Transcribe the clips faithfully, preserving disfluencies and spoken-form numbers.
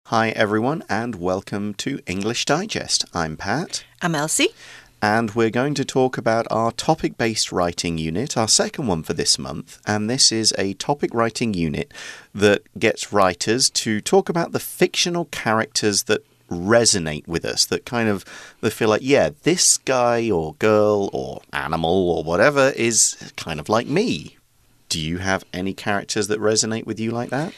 Hi, everyone, and welcome to English Digest. I'm Pat. I'm Elsie. And we're going to talk about our topic-based writing unit, our second one for this month. And this is a topic writing unit that gets writers to talk about the fictional characters that resonate with us, that kind of, they feel like, yeah, this guy or girl or animal or whatever is kind of like me. Do you have any characters that resonate with you like that?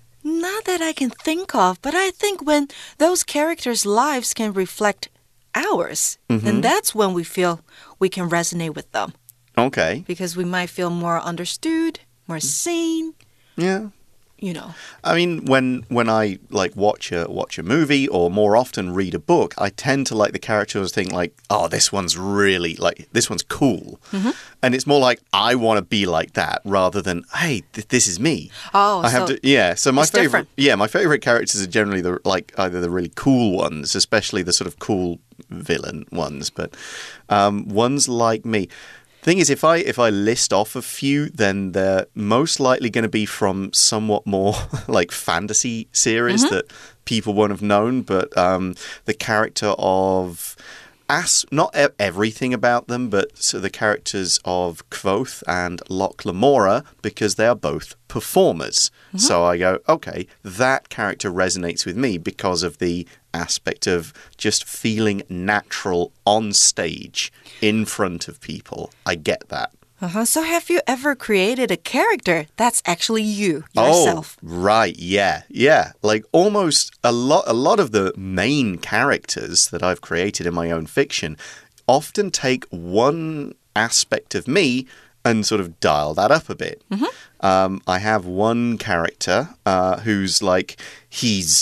Not that I can think of, but I think when those characters' lives can reflect ours, mm-hmm. then that's when we feel we can resonate with them. Okay. Because we might feel more understood, more seen. Yeah. You know. I mean, when when I like watch a watch a movie or more often read a book, I tend to like the characters think like, oh, this one's really like this one's cool, mm-hmm. and it's more like I want to be like that rather than hey, th this is me. Oh, I have so to yeah. So my favorite different. yeah, my favorite characters are generally the like either the really cool ones, especially the sort of cool villain ones, but um, ones like me. Thing is, if I if I list off a few, then they're most likely going to be from somewhat more like fantasy series mm-hmm. that people won't have known. But um, the character of As, not e everything about them, but so the characters of Kvothe and Locke Lamora, because they are both performers. Mm-hmm. So I go, okay, that character resonates with me because of the aspect of just feeling natural on stage in front of people. I get that. Uh-huh. So have you ever created a character that's actually you, yourself? Oh, right, yeah, yeah. Like almost a lot, a lot of the main characters that I've created in my own fiction often take one aspect of me and sort of dial that up a bit. Mm-hmm. Um, I have one character uh, who's like, he's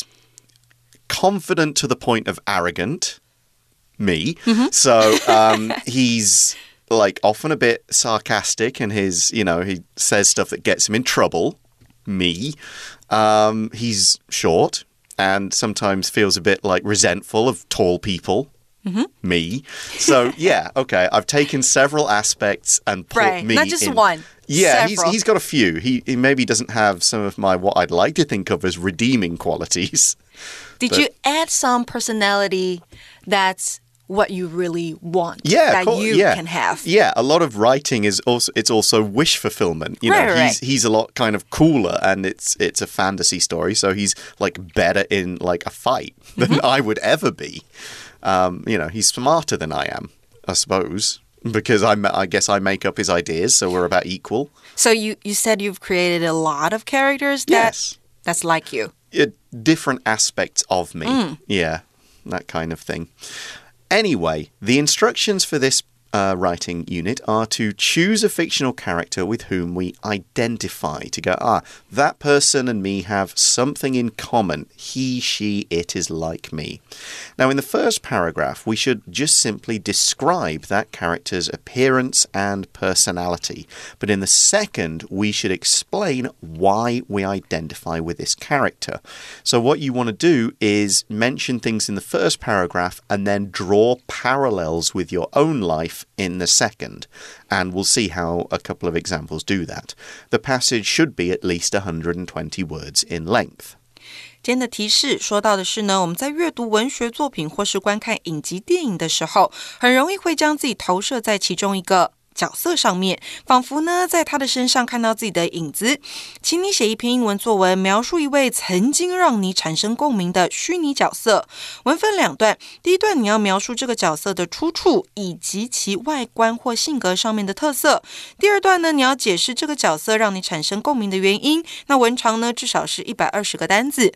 confident to the point of arrogant, me. Mm-hmm. So um, he's like often a bit sarcastic and his, you know, he says stuff that gets him in trouble, me. Um, he's short and sometimes feels a bit like resentful of tall people. Mm-hmm. Me. So, yeah, okay. I've taken several aspects and put right. me Not just in. one. Yeah, he's, several. he's got a few. He, he maybe doesn't have some of my, what I'd like to think of as redeeming qualities. Did but, you add some personality that's what you really want yeah, that cool, you yeah. can have? Yeah, a lot of writing is also, it's also wish fulfillment. You know, right, right, he's, right. he's a lot kind of cooler and it's, it's a fantasy story. So he's like better in like a fight than mm-hmm. I would ever be. Um, you know, he's smarter than I am, I suppose, because I, I guess I make up his ideas, so we're about equal. So you, you said you've created a lot of characters that, yes. that's like you. Uh, different aspects of me. Mm. Yeah, that kind of thing. Anyway, the instructions for this uh, writing unit are to choose a fictional character with whom we identify. To go, ah, that person and me have something in common. He, she, it is like me. Now, in the first paragraph, we should just simply describe that character's appearance and personality. But in the second, we should explain why we identify with this character. So what you want to do is mention things in the first paragraph and then draw parallels with your own life in the second, and we'll see how a couple of examples do that. The passage should be at least one hundred twenty words in length. 今天的提示說到的是呢，我們在閱讀文學作品或是觀看影集電影的時候，很容易會將自己投射在其中一個角色上面，仿佛呢在他的身上看到自己的影子。請你寫一篇英文作文，描述一位曾經讓你產生共鳴的虛擬角色。文分兩段，第一段你要描述這個角色的出處以及其外觀或性格上面的特色。第二段呢，你要解釋這個角色讓你產生共鳴的原因。那文長呢，至少是一百二十個單字。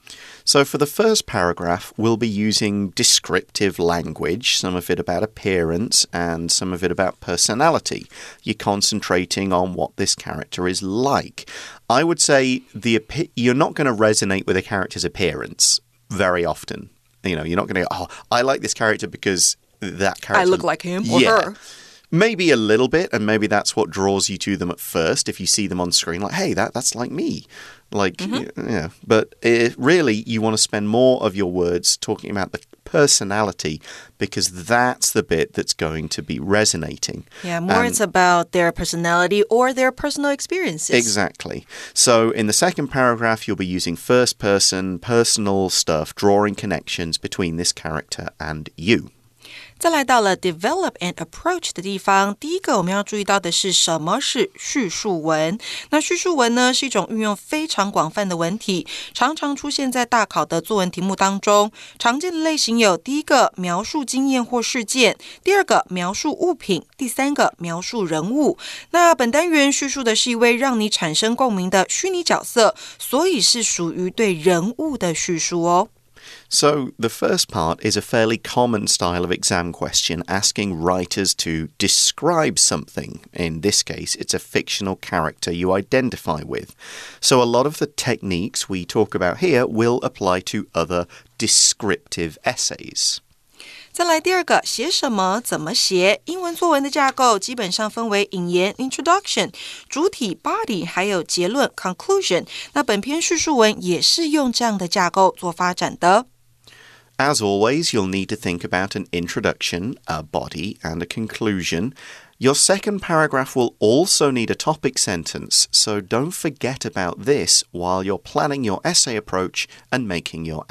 So for the first paragraph, we'll be using descriptive language, some of it about appearance and some of it about personality. You're concentrating on what this character is like. I would say the you're not going to resonate with a character's appearance very often. You know, you're not going to go, oh, I like this character because that character... I look like him or yeah. her. Maybe a little bit, and maybe that's what draws you to them at first. If you see them on screen, like, hey, that that's like me. Like, mm-hmm. yeah. But it, really, you want to spend more of your words talking about the personality because that's the bit that's going to be resonating. Yeah, more and, it's about their personality or their personal experiences. Exactly. So in the second paragraph, you'll be using first person, personal stuff, drawing connections between this character and you. 再来到了 develop and approach 的地方，第一个我們要注意到的是什麼是敘述文。那敘述文呢，是一種運用非常廣泛的文體，常常出現在大考的作文題目當中。常見的類型有第一個描述經驗或事件，第二個描述物品，第三個描述人物。那本單元敘述的是一位讓你產生共鳴的虛擬角色，所以是屬於對人物的敘述哦。 So the first part is a fairly common style of exam question asking writers to describe something. In this case, it's a fictional character you identify with. So a lot of the techniques we talk about here will apply to other descriptive essays. 再來第二個，寫什麼怎麼寫。英文作文的架構基本上分為引言 introduction、主體 body 還有結論 conclusion。那本篇敘述文也是用這樣的架構做發展的。 As always, you'll need to think about an introduction, a body, and a conclusion. Your second paragraph will also need a topic sentence, so don't forget about this while you're planning your essay approach and making your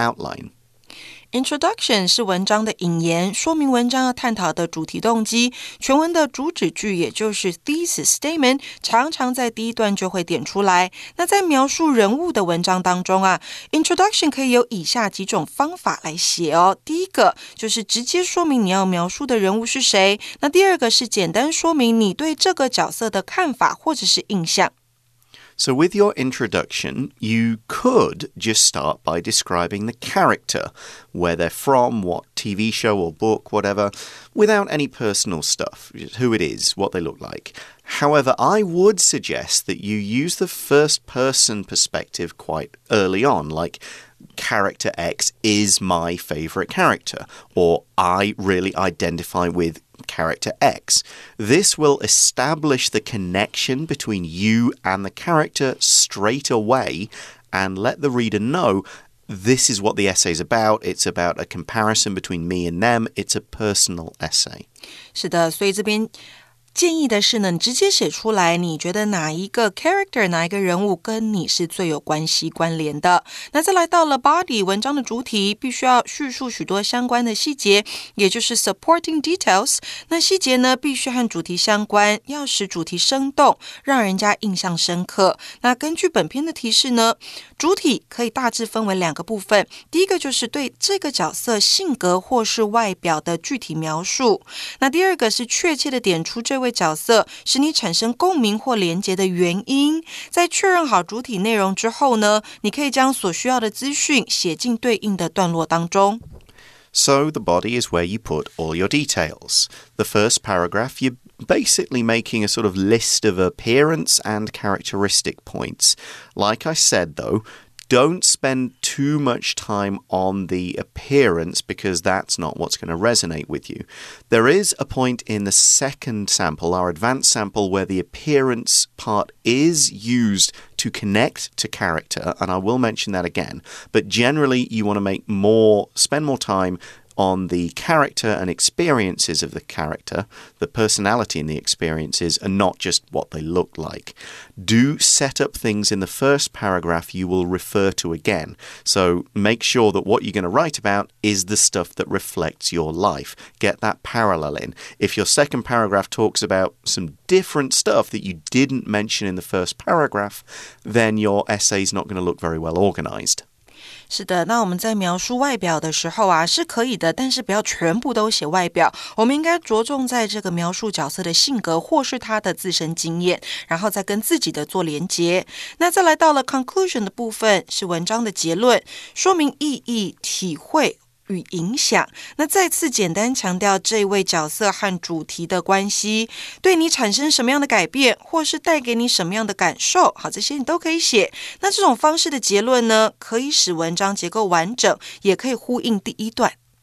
outline.Introduction 是文章的引言，說明文章要探討的主題動機。全文的主旨句，也就是 thesis statement， 常常在第一段就會點出來。那在描述人物的文章當中啊 ，Introduction 可以有以下幾種方法來寫哦。第一個就是直接說明你要描述的人物是誰。那第二個是簡單說明你對這個角色的看法或者是印象。So with your introduction, you could just start by describing the character, where they're from, what T V show or book, whatever, without any personal stuff, who it is, what they look like. However, I would suggest that you use the first-person perspective quite early on, like character X is my favorite character, or I really identify with character X. This will establish the connection between you and the character straight away and let the reader know this is what the essay is about. It's about a comparison between me and them. It's a personal essay. 是的，所以这边建議的是呢，你直接寫出來，你覺得哪一個 character 哪一個人物跟你是最有關係關聯的。那再來到了 body 文章的主體，必須要敘述許多相關的細節，也就是 supporting details。那細節呢，必須和主題相關，要使主題生動，讓人家印象深刻。那根據本篇的提示呢，主體可以大致分為兩個部分，第一個就是對這個角色性格或是外表的具體描述，那第二個是確切的點出這位角色使你產生共鳴或連結的原因。在確認好主體內容之後呢，你可以將所需要的資訊寫進對應的段落當中。So the body is where you put all your details. The first paragraph, you're basically making a sort of list of appearance and characteristic points. Like I said, though, don't spend too much time on the appearance because that's not what's going to resonate with you. There is a point in the second sample, our advanced sample, where the appearance part is used to connect to character, and I will mention that again. But generally, you want to make more, spend more time on the character and experiences of the character, the personality and the experiences, and not just what they look like. Do set up things in the first paragraph you will refer to again. So make sure that what you're going to write about is the stuff that reflects your life. Get that parallel in. If your second paragraph talks about some different stuff that you didn't mention in the first paragraph, then your essay is not going to look very well organized.是的，那我們在描述外表的時候啊，是可以的，但是不要全部都寫外表，我們應該着重在這個描述角色的性格或是他的自身經驗，然後再跟自己的做連結。那再來到了 conclusion 的部分，是文章的結論，說明意義、體會與影響。那再次簡單強調這位角色和主題的關係，對你產生什麼樣的改變，或是帶給你什麼樣的感受，好，這些你都可以寫。那這種方式的結論呢，可以使文章結構完整，也可以呼應第一段。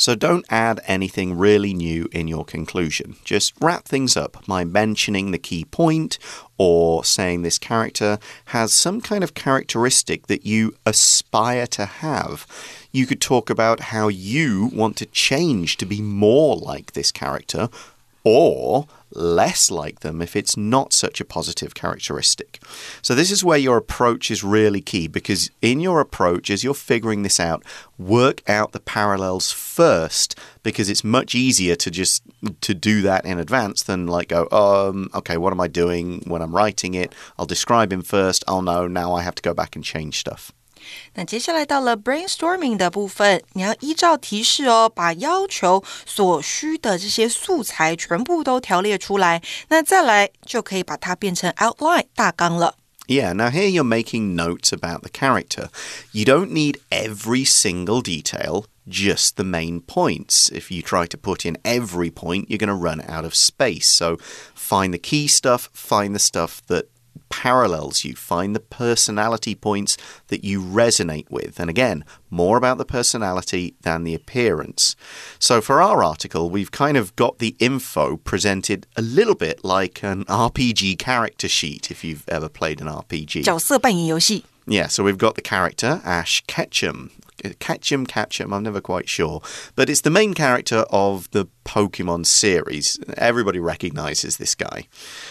So don't add anything really new in your conclusion. Just wrap things up by mentioning the key point or saying this character has some kind of characteristic that you aspire to have. You could talk about how you want to change to be more like this character or less like them if it's not such a positive characteristic. So this is where your approach is really key, because in your approach, as you're figuring this out, work out the parallels first, because it's much easier to just to do that in advance than like go, um, okay, what am I doing when I'm writing it? I'll describe him first. Oh no, now I have to go back and change stuff. 那接下来到了 brainstorming 的部分，你要依照提示哦，把要求所需的这些素材全部都条列出来，那再来就可以把它变成 outline 大纲了。 Yeah, now here you're making notes about the character. You don't need every single detail, just the main points. If you try to put in every point, you're going to run out of space. So find the key stuff, find the stuff that parallels you, find the personality points that you resonate with. And again, more about the personality than the appearance. So for our article, we've kind of got the info presented a little bit like an R P G character sheet, if you've ever played an R P G. 角色扮演游戏。 Yeah, so we've got the character, Ash Ketchum. Ketchum, Ketchum, I'm never quite sure. But it's the main character of the Pokemon series. Everybody recognizes this guy.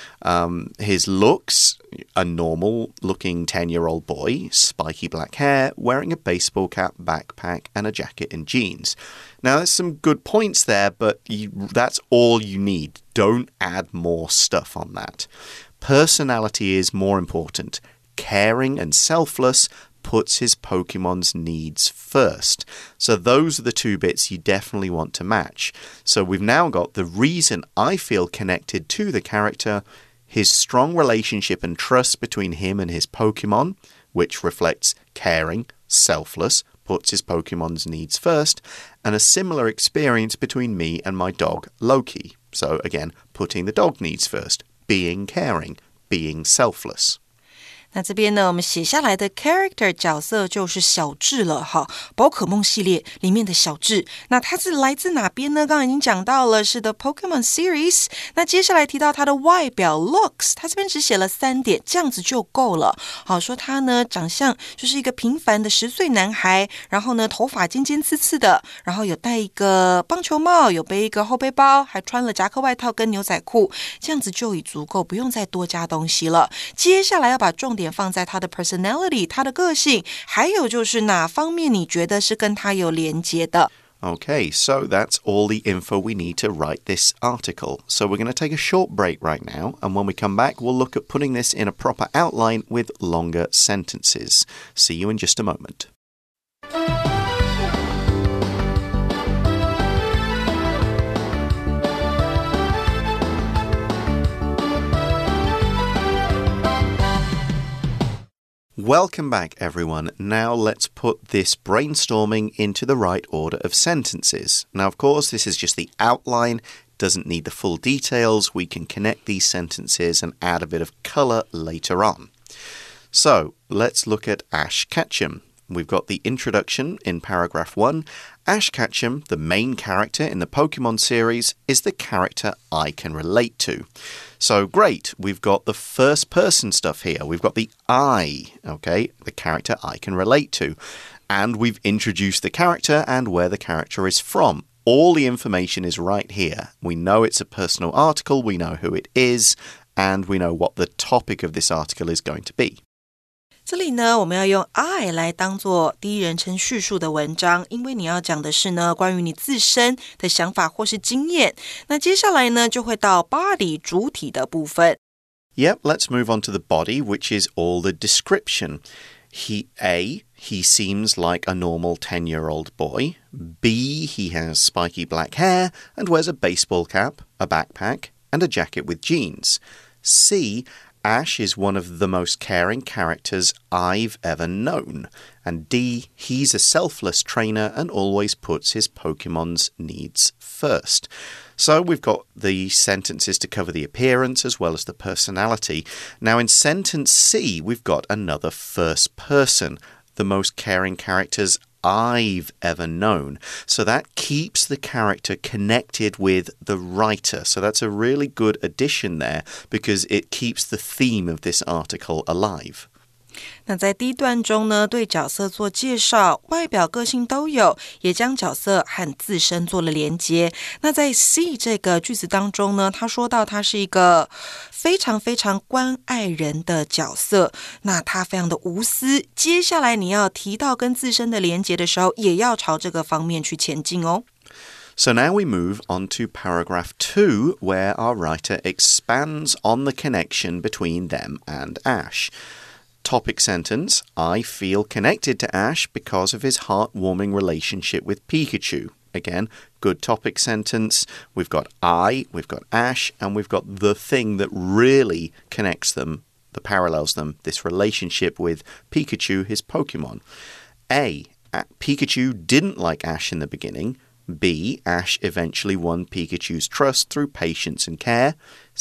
Um, his looks, a normal-looking ten-year-old boy, spiky black hair, wearing a baseball cap, backpack, and a jacket and jeans. Now, there's some good points there, but you, that's all you need. Don't add more stuff on that. Personality is more important. Caring and selfless puts his Pokemon's needs first. So those are the two bits you definitely want to match. So we've now got the reason I feel connected to the character, his strong relationship and trust between him and his Pokemon, which reflects caring, selfless, puts his Pokemon's needs first, and a similar experience between me and my dog, Loki. So again, putting the dog needs first, being caring, being selfless. 那这边呢，我们写下来的 character 角色就是小智了哈，寶可夢系列裡面的小智。那它是來自哪邊呢？剛剛已經講到了，是 The Pokemon Series。那接下來提到它的外表 looks， 它這邊只寫了三點，這樣子就夠了。好，說他呢長相就是一個平凡的十歲男孩，然後呢頭髮尖尖刺刺的，然後有戴一個棒球帽，有背一個後背包，還穿了夾克外套跟牛仔褲，這樣子就已足夠，不用再多加東西了。接下來要把重點放在他的 personality， 他的個性，還有就是哪方面你覺得是跟他有連接的。 Okay, so that's all the info we need to write this article. So we're going to take a short break right now, and when we come back, we'll look at putting this in a proper outline with longer sentences. See you in just a moment. Welcome back, everyone. Now let's put this brainstorming into the right order of sentences. Now, of course, this is just the outline, doesn't need the full details. We can connect these sentences and add a bit of color later on. So, let's look at Ash Ketchum. We've got the introduction in paragraph one. Ash Ketchum, the main character in the Pokemon series, is the character I can relate to. So great, we've got the first person stuff here. We've got the I, okay, the character I can relate to. And we've introduced the character and where the character is from. All the information is right here. We know it's a personal article, we know who it is, and we know what the topic of this article is going to be. 這裡呢，我們要用 I 來當做第一人稱敘述的文章，因為你要講的是呢，關於你自身的想法或是經驗。那接下來呢，就會到 body 主體的部分。 Yep, let's move on to the body, which is all the description. He, A, he seems like a normal ten-year-old boy. B, he has spiky black hair and wears a baseball cap, a backpack, and a jacket with jeans. C, Ash is one of the most caring characters I've ever known. And D, he's a selfless trainer and always puts his Pokemon's needs first. So we've got the sentences to cover the appearance as well as the personality. Now in sentence C, we've got another first person. The most caring characters I've ever known. So that keeps the character connected with the writer. So that's a really good addition there because it keeps the theme of this article alive. 那在第一段中呢，对角色做介绍，外表个性都有，也将角色和自身做了连接。那在 C 这个句子当中呢，他说到他是一个非常非常关愛人的角色，那他非常的無私。接下來你要提到跟自身的連接的時候，也要朝這個方面去前進哦。 So now we move on to paragraph two, where our writer expands on the connection between them and Ash.Topic sentence, I feel connected to Ash because of his heartwarming relationship with Pikachu. Again, good topic sentence. We've got I, we've got Ash, and we've got the thing that really connects them, that parallels them, this relationship with Pikachu, his Pokemon. A, Pikachu didn't like Ash in the beginning. B, Ash eventually won Pikachu's trust through patience and care.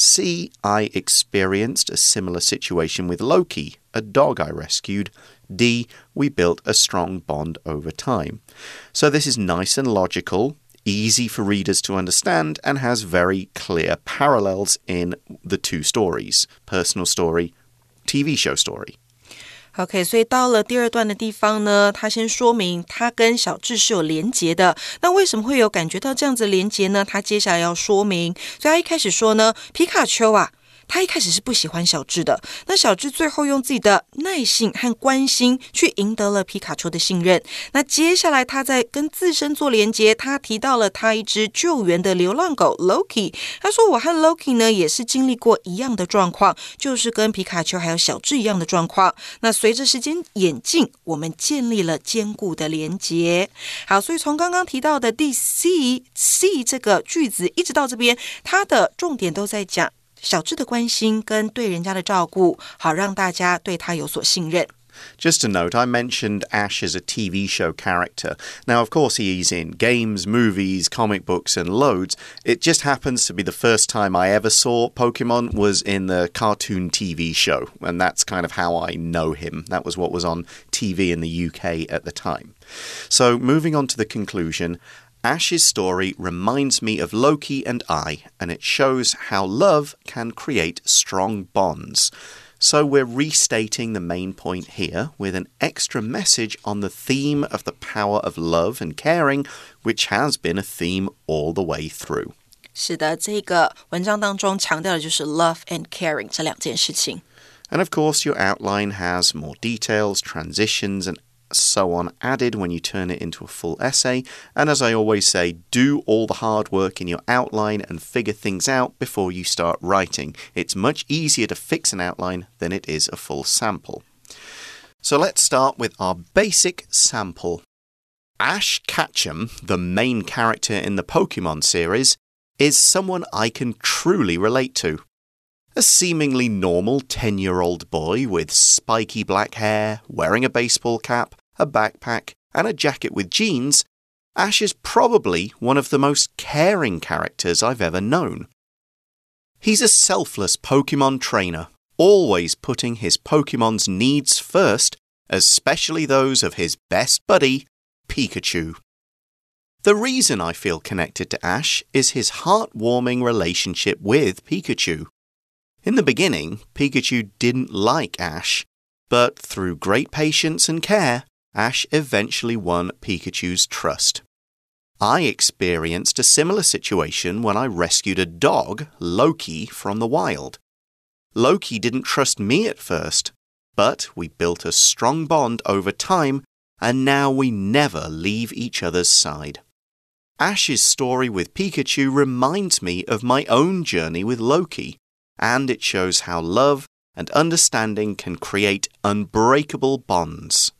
C, I experienced a similar situation with Loki, a dog I rescued. D, we built a strong bond over time. So this is nice and logical, easy for readers to understand, and has very clear parallels in the two stories, personal story, T V show story.OK, 所以到了第二段的地方呢，他先說明他跟小智是有連結的。那為什麼會有感覺到這樣子連結呢？他接下來要說明。所以他一開始說呢，皮卡丘啊，他一開始是不喜歡小智的。那小智最後用自己的耐性和關心去贏得了皮卡丘的信任。那接下來他在跟自身做連結，他提到了他一隻救援的流浪狗 Loki。他說我和 Loki 呢也是經歷過一樣的狀況，就是跟皮卡丘還有小智一樣的狀況。那隨着時間演進，我們建立了堅固的連結。好，所以從剛剛提到的第 C C 這個句子一直到這邊，它的重點都在講小智的關心跟對人家的照顧，好讓大家對他有所信任。 Just a note, I mentioned Ash as a T V show character. Now, of course, he's in games, movies, comic books, and loads. It just happens to be the first time I ever saw Pokemon was in the cartoon T V show, and that's kind of how I know him. That was what was on T V in the U K at the time. So, moving on to the conclusion, Ash's story reminds me of Loki and I, and it shows how love can create strong bonds. So we're restating the main point here with an extra message on the theme of the power of love and caring, which has been a theme all the way through. 是的，这個文章當中強調的就是 love and caring 這兩件事情。 And of course, your outline has more details, transitions, and so on added when you turn it into a full essay. And as I always say, do all the hard work in your outline and figure things out before you start writing. It's much easier to fix an outline than it is a full sample. So let's start with our basic sample. Ash Ketchum, the main character in the Pokemon series, is someone I can truly relate to. A seemingly normal ten-year-old boy with spiky black hair, wearing a baseball cap, a backpack, and a jacket with jeans, Ash is probably one of the most caring characters I've ever known. He's a selfless Pokemon trainer, always putting his Pokemon's needs first, especially those of his best buddy, Pikachu. The reason I feel connected to Ash is his heartwarming relationship with Pikachu. In the beginning, Pikachu didn't like Ash, but through great patience and care, Ash eventually won Pikachu's trust. I experienced a similar situation when I rescued a dog, Loki, from the wild. Loki didn't trust me at first, but we built a strong bond over time, and now we never leave each other's side. Ash's story with Pikachu reminds me of my own journey with Loki, and it shows how love and understanding can create unbreakable bonds.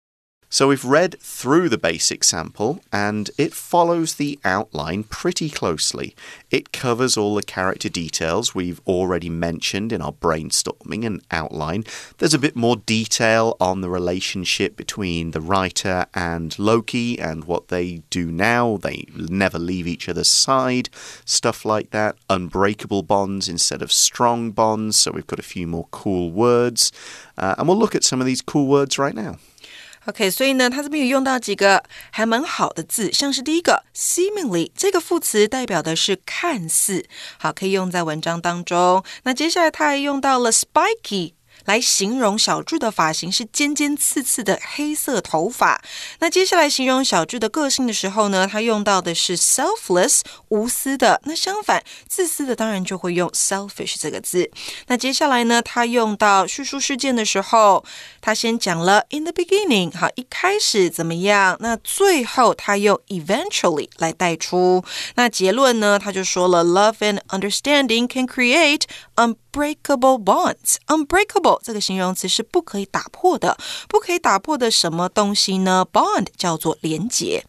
So we've read through the basic sample, and it follows the outline pretty closely. It covers all the character details we've already mentioned in our brainstorming and outline. There's a bit more detail on the relationship between the writer and Loki and what they do now. They never leave each other's side, stuff like that. Unbreakable bonds instead of strong bonds. So we've got a few more cool words. Uh, and we'll look at some of these cool words right now. OK， 所以呢，他這邊有用到幾個還蠻好的字，像是第一個 seemingly 這個副詞代表的是看似，好，可以用在文章當中。那接下來他還用到了 spiky。來形容小智的髮型是尖尖刺刺的黑色頭髮。那接下來形容小智的個性的時候呢，他用到的是 selfless 無私的。那相反自私的當然就會用 selfish 這個字。那接下來呢，他用到敘述事件的時候，他先講了 in the beginning， 好，一開始怎麼樣，那最後他用 eventually 來帶出。那結論呢，他就說了 love and understanding can create unbreakable bonds. Unbreakable 這個形容詞是不可以打破的，不可以打破的什麼東西呢？ Bond 叫做連結。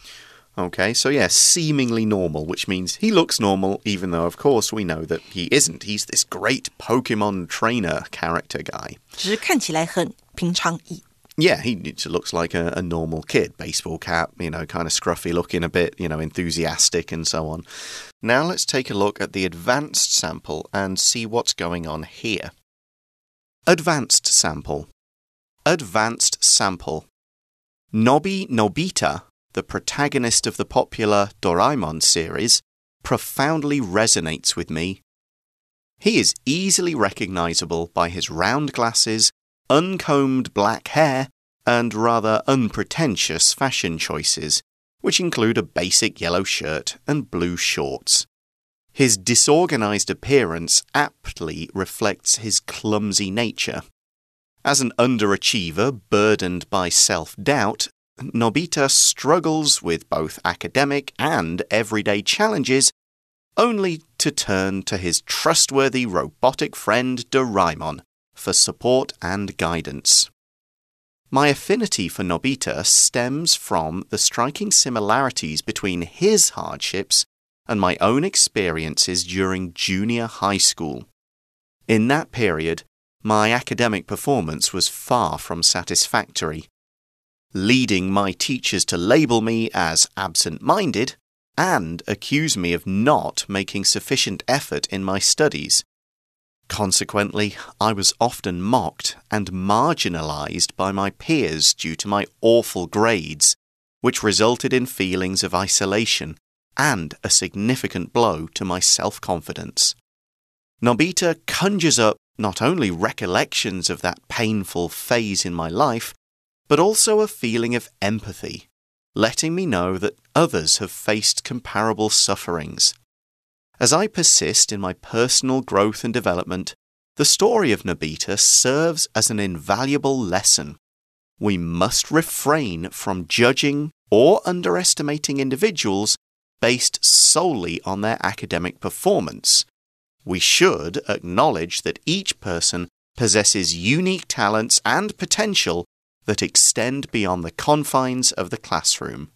Okay, so yeah, seemingly normal, which means he looks normal, even though, of course, we know that he isn't. He's this great Pokemon trainer character guy. 只是看起來很平常意。 Yeah, he looks like a, a normal kid. Baseball cap, you know, kind of scruffy looking a bit, you know, enthusiastic and so on. Now let's take a look at the advanced sample and see what's going on here. Advanced sample. Advanced sample. Nobi Nobita, the protagonist of the popular Doraemon series, profoundly resonates with me. He is easily recognizable by his round glasses, uncombed black hair, and rather unpretentious fashion choices, which include a basic yellow shirt and blue shorts. His disorganized appearance aptly reflects his clumsy nature. As an underachiever burdened by self-doubt, Nobita struggles with both academic and everyday challenges, only to turn to his trustworthy robotic friend Doraemon for support and guidance. My affinity for Nobita stems from the striking similarities between his hardships and my own experiences during junior high school. In that period, my academic performance was far from satisfactory, leading my teachers to label me as absent-minded and accuse me of not making sufficient effort in my studies. Consequently, I was often mocked and marginalized by my peers due to my awful grades, which resulted in feelings of isolation and a significant blow to my self-confidence. Nobita conjures up not only recollections of that painful phase in my life, but also a feeling of empathy, letting me know that others have faced comparable sufferings. As I persist in my personal growth and development, the story of Nobita serves as an invaluable lesson. We must refrain from judging or underestimating individuals based solely on their academic performance. We should acknowledge that each person possesses unique talents and potential that extend beyond the confines of the classroom.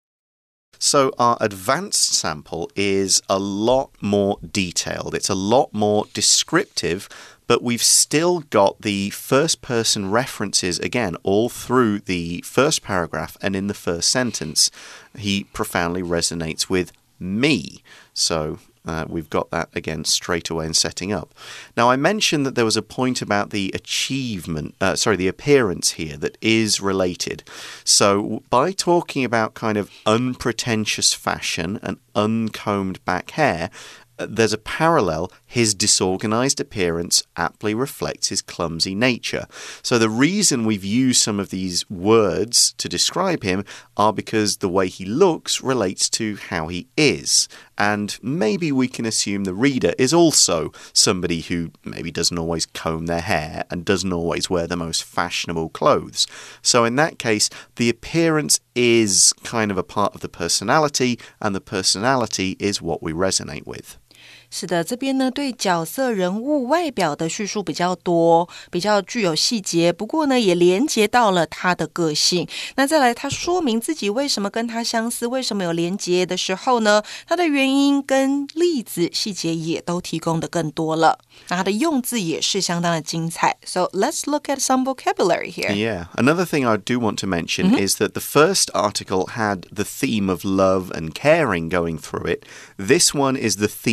So our advanced sample is a lot more detailed. It's a lot more descriptive, but we've still got the first-person references, again, all through the first paragraph and in the first sentence. He profoundly resonates with me. So uh, we've got that, again, straight away in setting up. Now, I mentioned that there was a point about the achievement, uh, sorry, the appearance here that is related. So by talking about kind of unpretentious fashion and uncombed back hair, there's a parallel. His disorganized appearance aptly reflects his clumsy nature. So the reason we've used some of these words to describe him are because the way he looks relates to how he is. And maybe we can assume the reader is also somebody who maybe doesn't always comb their hair and doesn't always wear the most fashionable clothes. So in that case, the appearance is kind of a part of the personality, and the personality is what we resonate with. 是的，这邊呢對角色人物外表的敘述比較多，比較具有細節，不過呢也連接到了他的個性。那再來他說明自己為什麼跟他相似，為什麼有連接的時候呢，他的原因跟例子細節也都提供的更多了。那他的用字也是相當的精彩。So let's look at some vocabulary here. Yeah, another thing I do want to mention mm-hmm. is that the first article had the theme of love and caring going through it. This one is the theme of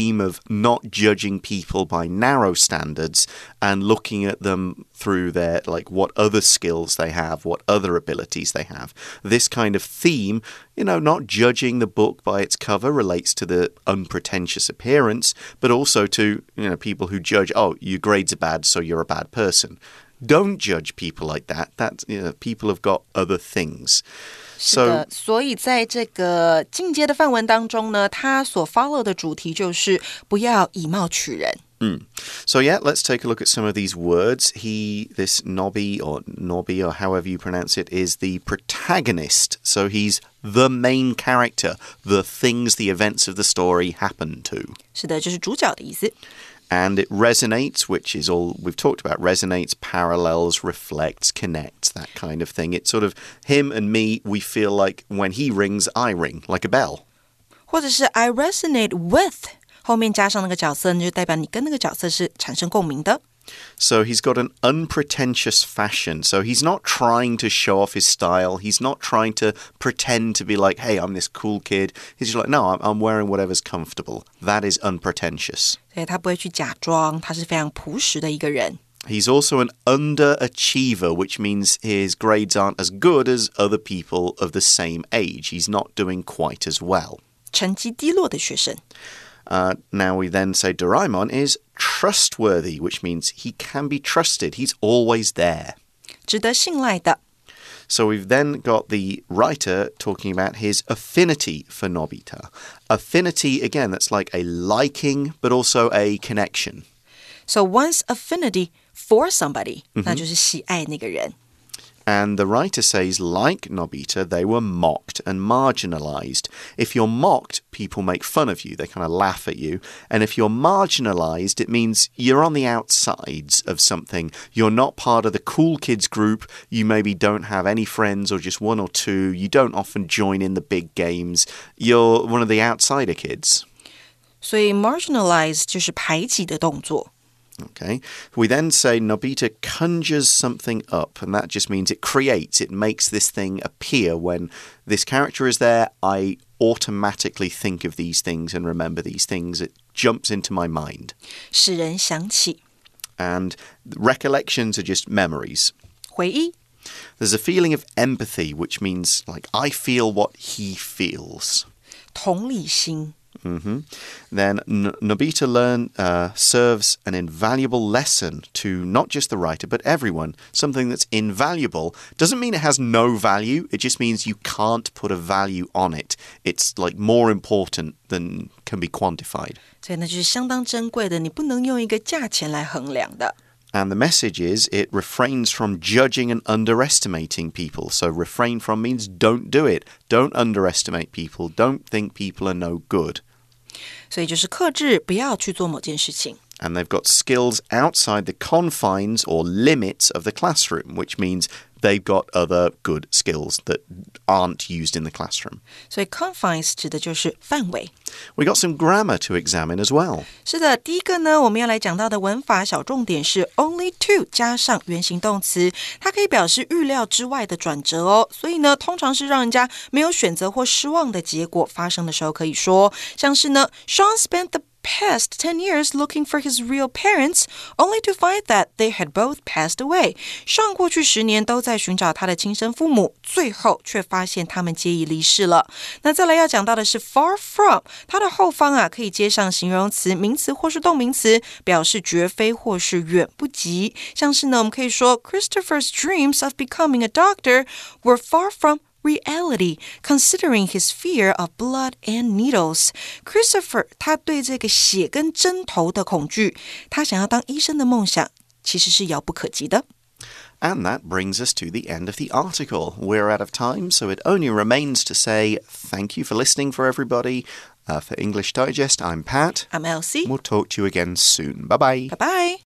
not judging people by narrow standards and looking at them through their, like, what other skills they have, what other abilities they have. This kind of theme, you know, not judging the book by its cover relates to the unpretentious appearance, but also to, you know, people who judge, oh, your grades are bad, so you're a bad person. Don't judge people like that. That, you know, people have got other things. 是的，所以在这個進階的範文當中呢，它所 follow 的主題就是不要以貌取人。 Mm. So yeah, let's take a look at some of these words. He, this Nobby or Nobby or however you pronounce it, is the protagonist. So he's the main character, the things, the events of the story happen to. 是的，就是主角的意思。 And it resonates, which is all we've talked about. Resonates, parallels, reflects, connects, that kind of thing. It's sort of him and me, we feel like when he rings, I ring, like a bell. 或者是 I resonate with 后面加上那个角色，就代表你跟那個角色是產生共鳴的。 So he's got an unpretentious fashion. So he's not trying to show off his style. He's not trying to pretend to be like, hey, I'm this cool kid. He's just like, no, I'm, I'm wearing whatever's comfortable. That is unpretentious. 所以他不會去假裝，他是非常樸實的一個人。 He's also an underachiever, which means his grades aren't as good as other people of the same age. He's not doing quite as well. 成績低落的學生。 Uh, now we then say Doraemon is trustworthy, which means he can be trusted. He's always there. 值得信賴的。 So we've then got the writer talking about his affinity for Nobita. Affinity, again, that's like a liking, but also a connection. So one's affinity for somebody, 那就是喜愛那個人。 And the writer says, like Nobita, they were mocked and marginalized. If you're mocked, people make fun of you. They kind of laugh at you. And if you're marginalized, it means you're on the outsides of something. You're not part of the cool kids group. You maybe don't have any friends or just one or two. You don't often join in the big games. You're one of the outsider kids. 所以 marginalize 就是排擠的動作。 Okay. We then say Nobita conjures something up, and that just means it creates, it makes this thing appear. When this character is there, I automatically think of these things and remember these things. It jumps into my mind. 使人想起。 And recollections are just memories. 回憶。 There's a feeling of empathy, which means, like, I feel what he feels. 同理心。 Mm-hmm. Then N- Nobita learn, uh, serves an invaluable lesson to not just the writer, but everyone. Something that's invaluable doesn't mean it has no value. It just means you can't put a value on it. It's like more important than can be quantified. 所以那就是相当珍貴的，你不能用一個價錢來衡量的。 And the message is it refrains from judging and underestimating people. So refrain from means don't do it. Don't underestimate people. Don't think people are no good. 所以就是克制，不要去做某件事情。 And they've got skills outside the confines or limits of the classroom, which means they've got other good skills that aren't used in the classroom. 所以 confines 指的就是範圍。 We got some grammar to examine as well. 是的，第一個呢，我們要來講到的文法小重點是 only to 加上原形動詞，它可以表示預料之外的轉折哦。所以呢，通常是讓人家沒有選擇或失望的結果發生的時候，可以說像是呢 Sean spent the past ten years looking for his real parents, only to find that they had both passed away. 上過去十年都在尋找他的親生父母，最後卻發現他們皆已離世了。那再來要講到的是 far from， 它的後方啊可以接上形容詞、名詞或是動名詞，表示絕非或是遠不及。像是呢，我們可以說 Christopher's dreams of becoming a doctor were far from reality, considering his fear of blood and needles. Christopher 他對這個血跟針頭的恐懼，他想要當醫生的夢想其實是遙不可及的。 And that brings us to the end of the article. We're out of time, so it only remains to say thank you for listening for everybody. Uh, for English Digest, I'm Pat. I'm Elsie. We'll talk to you again soon. Bye-bye. Bye-bye.